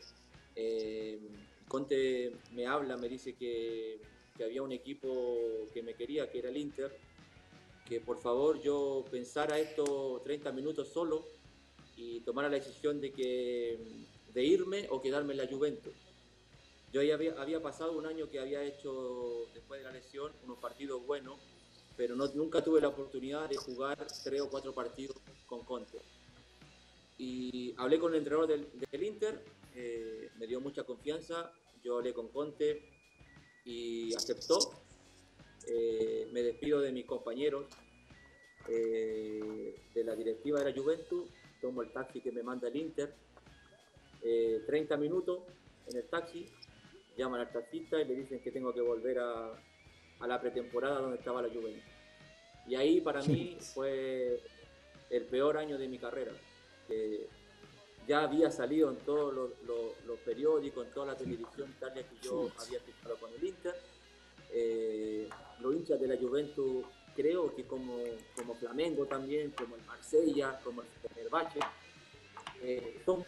Conte me habla, me dice que había un equipo que me quería, que era el Inter, que por favor yo pensara esto 30 minutos solo y tomara la decisión de irme o quedarme en la Juventus. Yo ya había pasado 1 año que había hecho, después de la lesión, unos partidos buenos, pero nunca tuve la oportunidad de jugar 3 o 4 partidos con Conte. y hablé con el entrenador del Inter, me dio mucha confianza, yo hablé con Conte y aceptó. Me despido de mis compañeros de la directiva de la Juventus, tomo el taxi que me manda el Inter, 30 minutos en el taxi, llaman al taxista y le dicen que tengo que volver a la pretemporada donde estaba la Juventus. Y ahí para mí fue el peor año de mi carrera. Ya había salido en todos los periódicos, en toda la televisión Italia que yo había fichado con el Inter. Los hinchas de la Juventus, creo que como Flamengo también, como el Marsella, como el Fenerbahce, son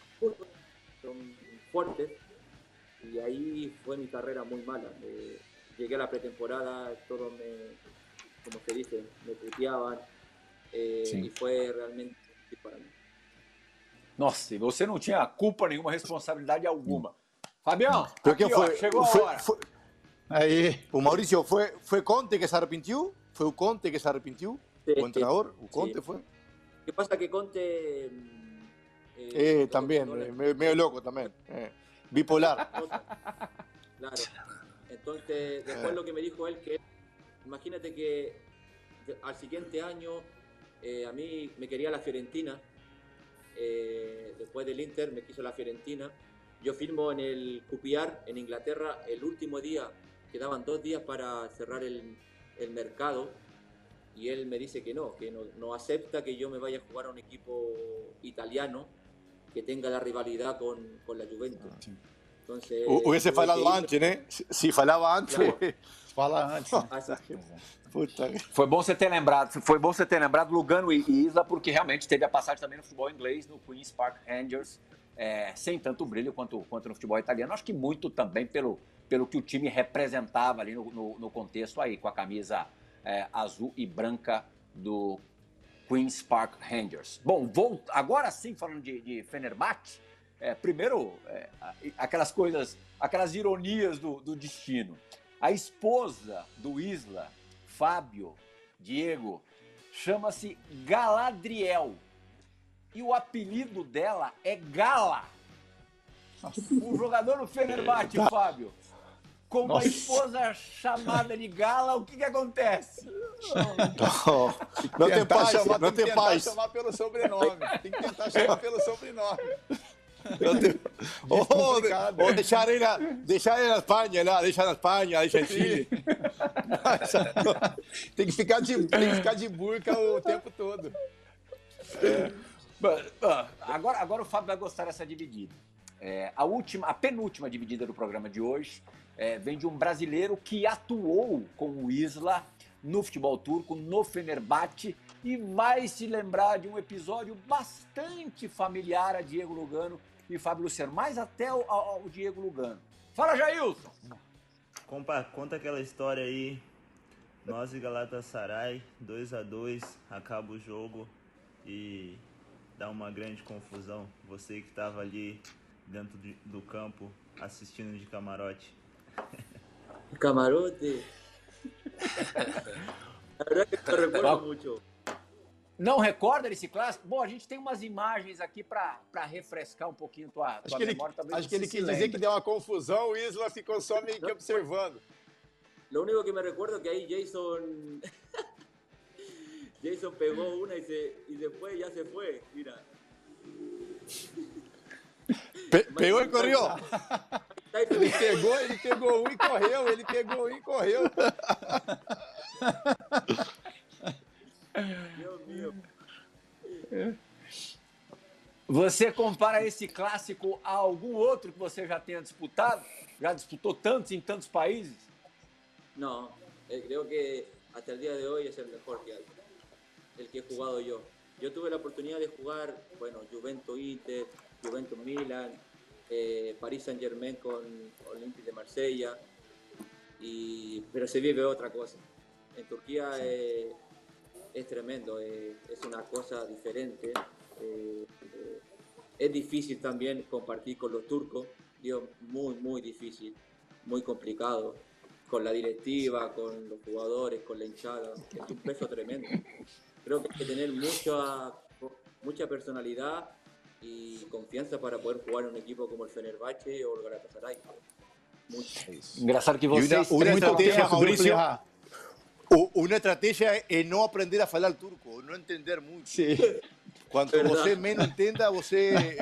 fuertes, y ahí fue mi carrera muy mala. Llegué a la pretemporada, todos como se dice, me puteaban, e foi realmente para mim. Nossa, e você não tinha culpa nenhuma, responsabilidade alguma. Fabião, Porque aqui, ó, chegou a hora. Aí. O Maurício, foi Conte que se arrepentiu? Foi o Conte que se arrepentiu? Sí, o entrenador? O Conte sí. foi? Lo que pasa que Conte... también, medio loco también. Bipolar. Claro. Entonces, después lo que me dijo él, que imagínate que al siguiente año a mí me quería la Fiorentina, después del Inter me quiso la Fiorentina. Yo firmo en el QPR en Inglaterra el último día, quedaban 2 días para cerrar el mercado, y él me dice que no acepta que yo me vaya a jugar a un equipo italiano que tenga la rivalidad con la Juventus. Entonces, Hubiese falado antes, né? Se falava antes. Claro. Fala antes. Puta. Foi bom você ter lembrado Lugano e Isla, porque realmente teve a passagem também no futebol inglês, no Queen's Park Rangers, sem tanto brilho quanto no futebol italiano. Acho que muito também pelo que o time representava ali no contexto aí, com a camisa azul e branca do Queen's Park Rangers. Bom, agora sim, falando de Fenerbahçe, primeiro, aquelas coisas, aquelas ironias do destino. A esposa do Isla, Fábio, Diego, chama-se Galadriel. E o apelido dela é Gala. Um jogador no Fenerbahçe, Fábio, com uma esposa chamada de Gala, o que acontece? Não tem paz, não tem paz. Tem que tentar chamar pelo sobrenome. Tem que tentar chamar pelo sobrenome. Ou deixar ele na Espanha, lá, deixa na Espanha, deixa em Chile. Tem que ficar de burca o tempo todo. Agora o Fábio vai gostar dessa dividida. A penúltima dividida do programa de hoje vem de um brasileiro que atuou com o Isla no futebol turco, no Fenerbahçe, e vai se lembrar de um episódio bastante familiar a Diego Lugano e Fábio Luciano, mais até ao Diego Lugano. Fala, Jailson! Conta aquela história aí, nós e Galatasaray, 2-2, acaba o jogo e dá uma grande confusão. Você que estava ali dentro do campo, assistindo de camarote. Camarote? La verdad que me recuerdo mucho. Não recorda desse clássico? Bom, a gente tem umas imagens aqui para refrescar um pouquinho tua memória. Acho que ele quis dizer que deu uma confusão, o Isla ficou só meio que observando. Lo único que me recuerdo es que ahí Jason pegó una y después ya se fue, mira. Pegou e correu. Ele pegou um e correu. Dios mío. Você compara esse clássico a algum outro que você já tenha disputado? Já disputou tantos em tantos países? No, creo que hasta el día de hoy es el mejor que hay, el que he jugado yo. Yo tuve la oportunidad de jugar, bueno, Juventus Inter, Juventus Milan, Paris Saint-Germain con Olympique de Marsella, pero se vive otra cosa. En Turquía es tremendo, es una cosa diferente. Es difícil también compartir con los turcos, digo, muy difícil, muy complicado, con la directiva, con los jugadores, con la hinchada. Es un peso tremendo. Creo que hay que tener mucha personalidad, y confianza para poder jugar en un equipo como el Fenerbahce o el Galatasaray. Engraçado que vocês... Una estrategia, Mauricio, una estrategia es no aprender a falar turco, no entender mucho. Sí. Quanto você menos entenda, você...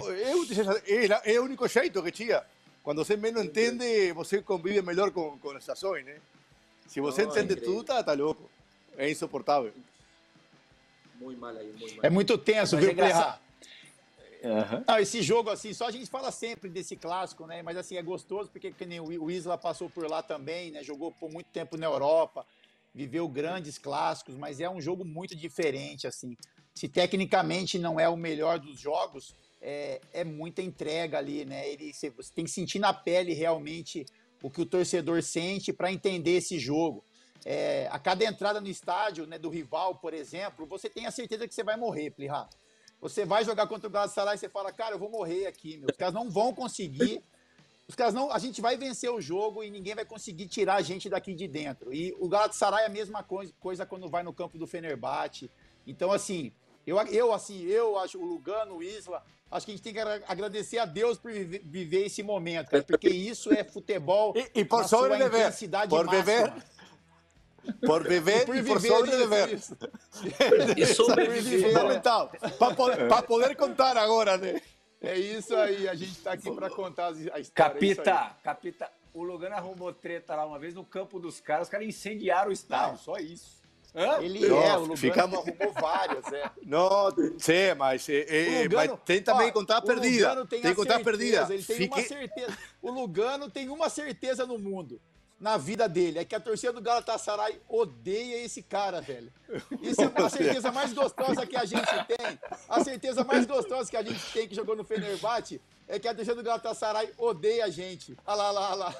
É o único jeito que tinha. Quando você menos entende, você convive melhor com as ações, né? Se você entende tudo, tá louco. É insuportável. Muito mal aí, muito mal. É muito tenso, Mas viu, é engraçado. Plirra? Não, esse jogo, assim, só a gente fala sempre desse clássico, né? Mas, assim, é gostoso porque que nem o Isla passou por lá também, né? Jogou por muito tempo na Europa, viveu grandes clássicos, mas é um jogo muito diferente, assim. Se tecnicamente não é o melhor dos jogos, é muita entrega ali, né? Você tem que sentir na pele realmente o que o torcedor sente para entender esse jogo. A cada entrada no estádio, né, do rival, por exemplo, você tem a certeza que você vai morrer, Plirra. Você vai jogar contra o Galatasaray e você fala, cara, eu vou morrer aqui, meu. Os caras não vão conseguir. A gente vai vencer o jogo e ninguém vai conseguir tirar a gente daqui de dentro. E o Galatasaray é a mesma coisa quando vai no campo do Fenerbahçe. Então, assim, eu acho o Lugano, o Isla, acho que a gente tem que agradecer a Deus por viver esse momento, cara, porque isso é futebol e por na sua sobreviver, intensidade por máxima. Viver. Por viver e por sobreviver. E sobreviver. Fundamental. Para poder contar agora, né? É isso aí, a gente tá aqui para contar a história. Capita, o Lugano arrumou treta lá uma vez no campo dos caras, os caras incendiaram o estádio, só isso. O Lugano arrumou vários, Não, sim, mas tem também contar perdida. Tem que contar perdida. Ele tem uma certeza. O Lugano tem uma certeza no mundo, na vida dele, é que a torcida do Galatasaray odeia esse cara, velho. Isso é a certeza mais gostosa que a gente tem. A certeza mais gostosa que a gente tem que jogou no Fenerbahçe é que a torcida do Galatasaray odeia a gente. Olha lá.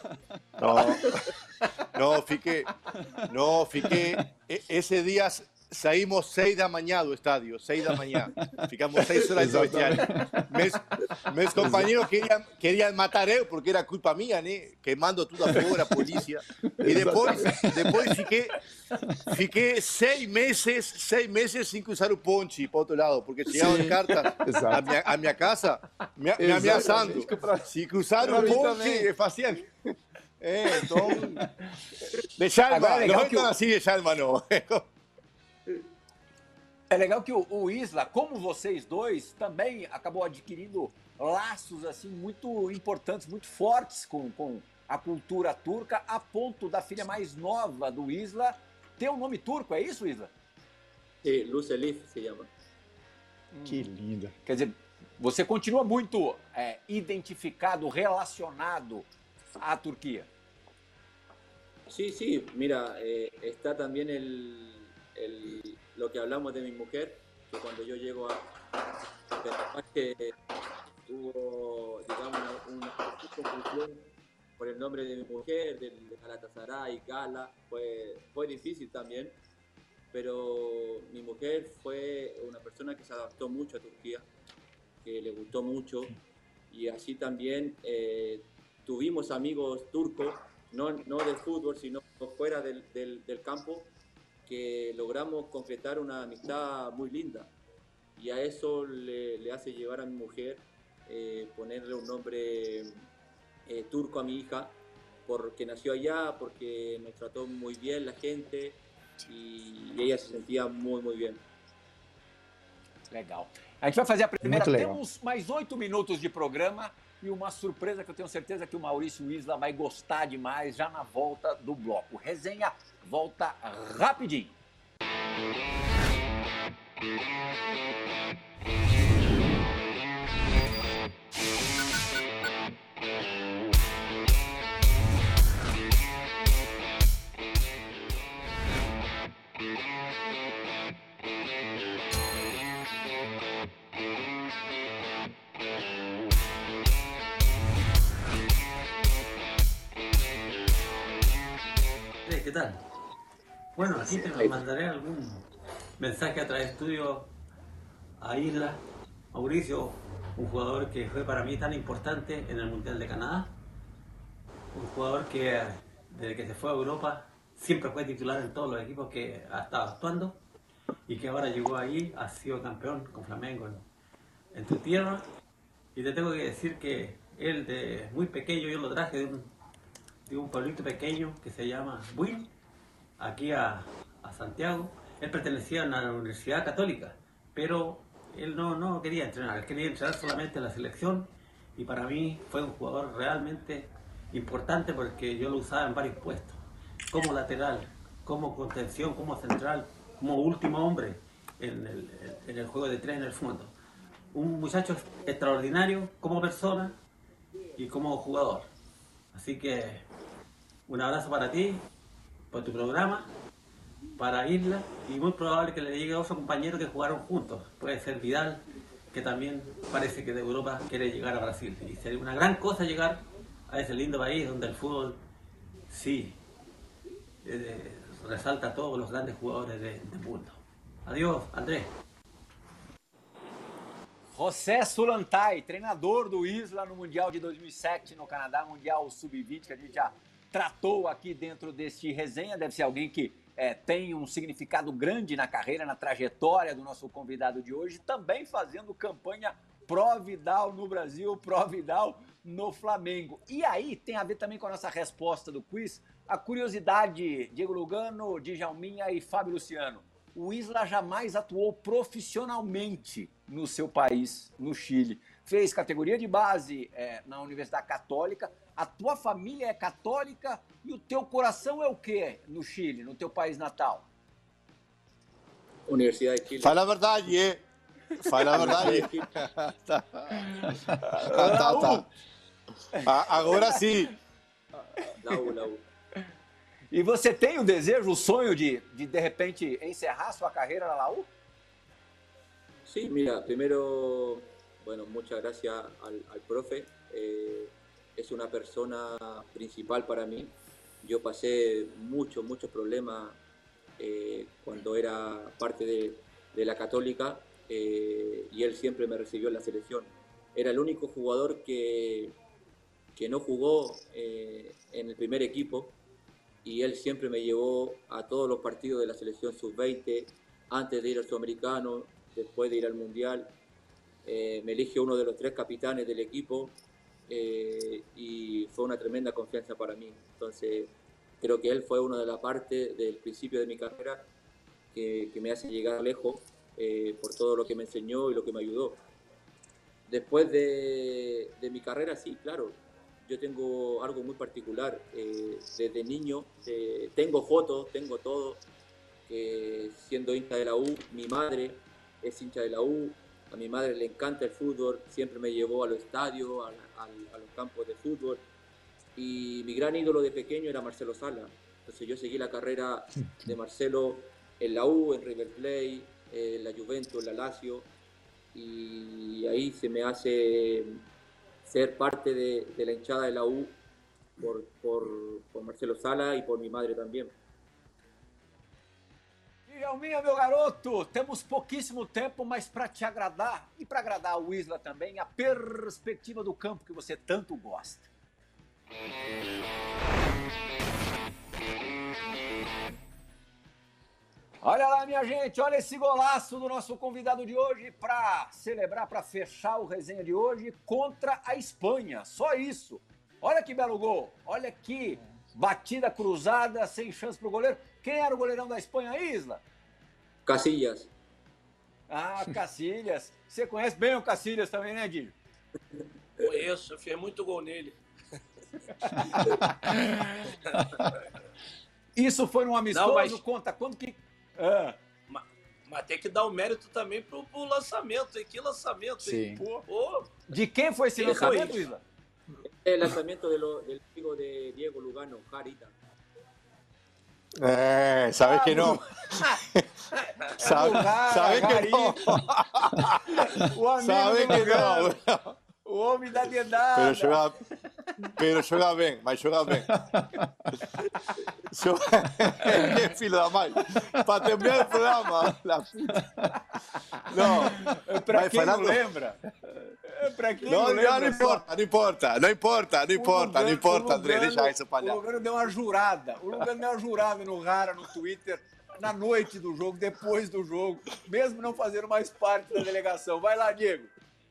Não, fiquei. Esse dia saímos 6 da manhã do estádio, 6 da manhã. Ficamos 6 horas no vestiário. Meus companheiros queriam matar eu, porque era culpa minha, né? Queimando tudo afora, a polícia. E depois fiquei 6 meses sem cruzar o ponte para o outro lado, porque chegavam cartas à minha casa me ameaçando. Se cruzar o ponte, fazia... então... De Chalma, não estão assim de Chalma, não. É legal que o Isla, como vocês dois, também acabou adquirindo laços assim muito importantes, muito fortes com a cultura turca, a ponto da filha mais nova do Isla ter um nome turco, é isso, Isla? Sim, Luz Elif se chama. Que linda. Quer dizer, você continua muito identificado, relacionado à Turquia. Sí, mira, está también lo que hablamos de mi mujer, que cuando yo llego que hubo, digamos, una confusión por el nombre de mi mujer, del Galatasaray, Gala, fue difícil también, pero mi mujer fue una persona que se adaptó mucho a Turquía, que le gustó mucho, y así también tuvimos amigos turcos, no del fútbol, sino fuera del campo, que logramos concretar una amistad muy linda, y a eso le hace llevar a mi mujer ponerle un nombre turco a mi hija, porque nació allá, porque nos trató muy bien la gente, y ella se sentía muy, muy bien. Legal. A gente vai fazer a primeira, temos mais 8 minutos de programa e uma surpresa que eu tenho certeza que o Maurício Isla vai gostar demais já na volta do bloco. Resenha volta rapidinho. ¿Qué tal? Bueno, aquí te mandaré algún mensaje a través tuyo a Isla. Mauricio, un jugador que fue para mí tan importante en el Mundial de Canadá. Un jugador que desde que se fue a Europa siempre fue titular en todos los equipos que ha estado actuando y que ahora llegó ahí, ha sido campeón con Flamengo en tu tierra. Y te tengo que decir que él, de muy pequeño, yo lo traje de un pueblito pequeño que se llama Buin, aquí a Santiago. Él pertenecía a la Universidad Católica, pero él no quería entrenar, él quería entrenar solamente en la selección. Y para mí fue un jugador realmente importante porque yo lo usaba en varios puestos, como lateral, como contención, como central, como último hombre en el juego de tres en el fondo. Un muchacho extraordinario como persona y como jugador. Así que un abrazo para ti, por tu programa, para Isla, y muy probable que le llegue a otro compañero que jugaron juntos. Puede ser Vidal, que también parece que de Europa quiere llegar a Brasil. Y sería una gran cosa llegar a ese lindo país donde el fútbol sí resalta a todos los grandes jugadores del mundo. Adiós, Andrés. José Sulantai, treinador do Isla no Mundial de 2007 no Canadá, Mundial Sub-20, que a gente já tratou aqui dentro deste resenha. Deve ser alguém que tem um significado grande na carreira, na trajetória do nosso convidado de hoje, também fazendo campanha pró-Vidal no Brasil, pró-Vidal no Flamengo. E aí tem a ver também com a nossa resposta do quiz, a curiosidade, Diego Lugano, Djalminha e Fábio Luciano. O Isla jamais atuou profissionalmente no seu país, no Chile. Fez categoria de base na Universidade Católica. A tua família é católica e o teu coração é o quê no Chile, no teu país natal? Universidade de Chile. Fala a verdade, Fala a verdade. Tá. Agora sim. Laú. E você tem o desejo, o sonho de repente, encerrar sua carreira na Laú? Sí, mira, primero, bueno, muchas gracias al profe. Es una persona principal para mí. Yo pasé muchos problemas cuando era parte de la Católica y él siempre me recibió en la selección. Era el único jugador que no jugó en el primer equipo y él siempre me llevó a todos los partidos de la selección sub-20 antes de ir al Sudamericano, después de ir al Mundial. Me eligió uno de los 3 capitanes del equipo y fue una tremenda confianza para mí. Entonces creo que él fue una de las partes del principio de mi carrera que me hace llegar lejos por todo lo que me enseñó y lo que me ayudó. Después de mi carrera, sí, claro, yo tengo algo muy particular. Desde niño tengo fotos, tengo todo. Siendo hincha de la U, mi madre es hincha de la U, a mi madre le encanta el fútbol, siempre me llevó a los estadios, a los campos de fútbol, y mi gran ídolo de pequeño era Marcelo Sala. Entonces yo seguí la carrera de Marcelo en la U, en River Plate, en la Juventus, en la Lazio, y ahí se me hace ser parte de la hinchada de la U por Marcelo Sala y por mi madre también. Djalminha, meu garoto, temos pouquíssimo tempo, mas para te agradar e para agradar o Isla também, a perspectiva do campo que você tanto gosta. Olha lá, minha gente, olha esse golaço do nosso convidado de hoje para celebrar, para fechar o resenha de hoje contra a Espanha. Só isso. Olha que belo gol, olha que batida cruzada, sem chance para o goleiro. Quem era o goleirão da Espanha, Isla? Casillas. Ah, Casillas. Você conhece bem o Casillas também, né, Dino? Conheço, eu fiz muito gol nele. Isso foi num amistoso? Não, mas... Conta, quando que... Mas tem que dar o mérito também pro lançamento, hein? Que lançamento, hein? Pô. De quem foi esse lançamento, Isla? El lanzamiento del amigo de Diego Lugano, Jarita. Sabes que no. Sabes que no. Sabes que no. O homem da dedada. Pero joga bem, mas joga bem. Que filho da mãe. Para terminar o programa. Não. Para quem não lembra. Pra quem não lembra, não importa, André, deixa isso palhaço. O Lugano deu uma jurada. No Rara, no Twitter, na noite do jogo, depois do jogo, mesmo não fazendo mais parte da delegação. Vai lá, Diego.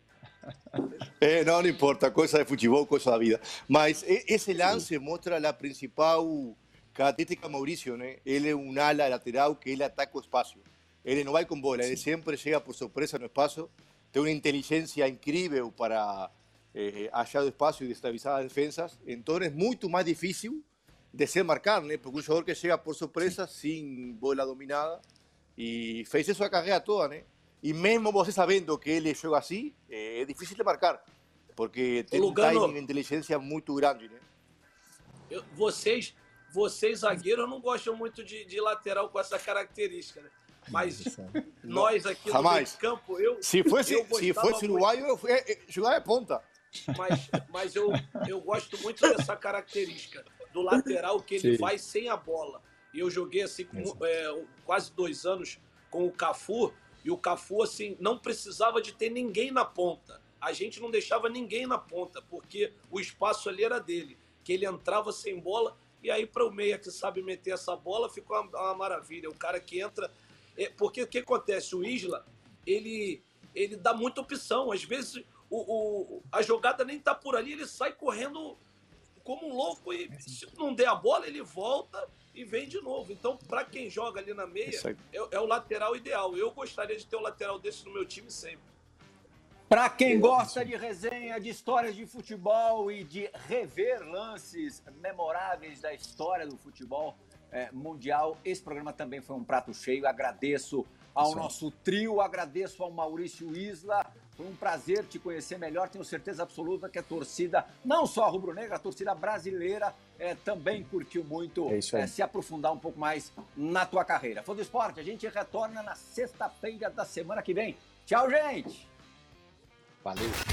Não importa, coisa de futebol, coisa da vida. Mas esse lance mostra a principal característica de Mauricio, né? Ele é um ala lateral que ele ataca o espaço. Ele não vai com bola, ele sempre chega por surpresa no espaço. Tem uma inteligência incrível para achar o espaço e destabilizar as defensas. Então é muito mais difícil de ser marcado, né? Porque um jogador que chega por surpresa, sem bola dominada, e fez isso a carreira toda, né? E mesmo você sabendo que ele joga assim, é difícil de marcar, porque tem um timing e inteligência muito grande, né? Vocês zagueiros, não gostam muito de lateral com essa característica, né? Mas nós aqui no meio de campo, se fosse uruguaio, eu jogar de ponta. Mas eu gosto muito dessa característica do lateral que ele faz sem a bola. E eu joguei assim quase 2 anos com o Cafu, e o Cafu assim, não precisava de ter ninguém na ponta. A gente não deixava ninguém na ponta, porque o espaço ali era dele, que ele entrava sem bola, e aí para o meia que sabe meter essa bola, ficou uma maravilha. O cara que entra... Porque o que acontece? O Isla, ele dá muita opção. Às vezes a jogada nem tá por ali, ele sai correndo como um louco e se não der a bola, ele volta e vem de novo. Então, para quem joga ali na meia, é o lateral ideal. Eu gostaria de ter um lateral desse no meu time sempre. Para quem gosta de resenha, de histórias de futebol e de rever lances memoráveis da história do futebol mundial, esse programa também foi um prato cheio. Agradeço ao nosso trio, agradeço ao Maurício Isla. Foi um prazer te conhecer melhor. Tenho certeza absoluta que a torcida, não só a rubro-negra, a torcida brasileira também curtiu muito se aprofundar um pouco mais na tua carreira. Fã do Esporte, a gente retorna na sexta-feira da semana que vem. Tchau, gente! Valeu!